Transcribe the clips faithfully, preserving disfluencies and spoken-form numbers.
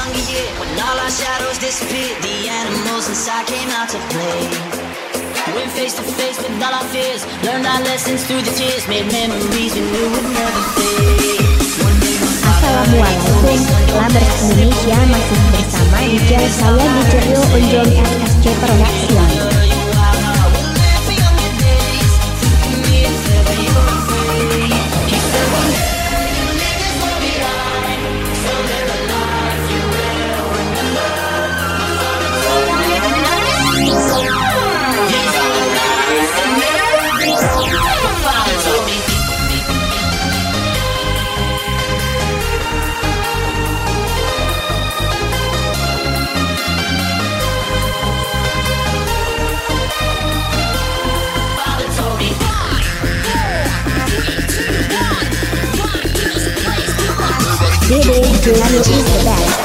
younger year, when all our shadows disappeared, the animals inside came out to play. Went face to face with all our fears, learned our lessons through the tears, made memories we knew would never fade. Assalamualaikum, Labers Indonesia masih bersama D J saya di Rio Unjong S S C Production. Dede Jelani is the best.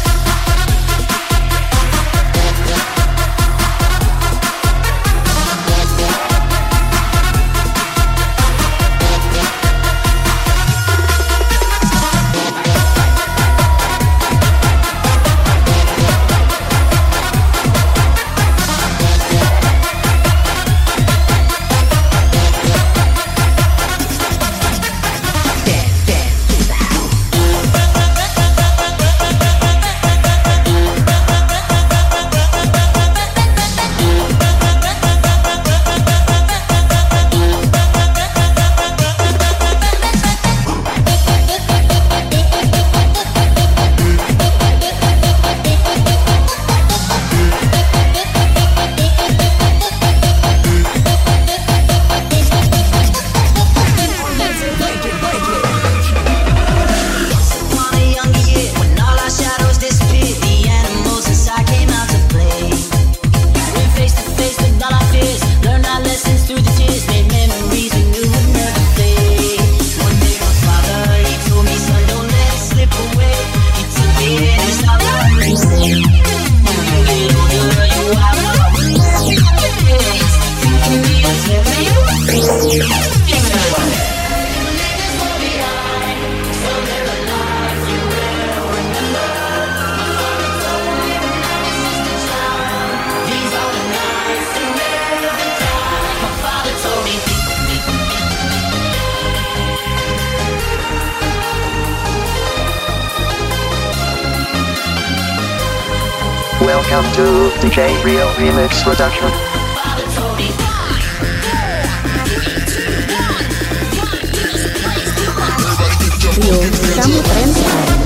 Welcome to D J Rio Remix Production. Rio, kamu keren sekali.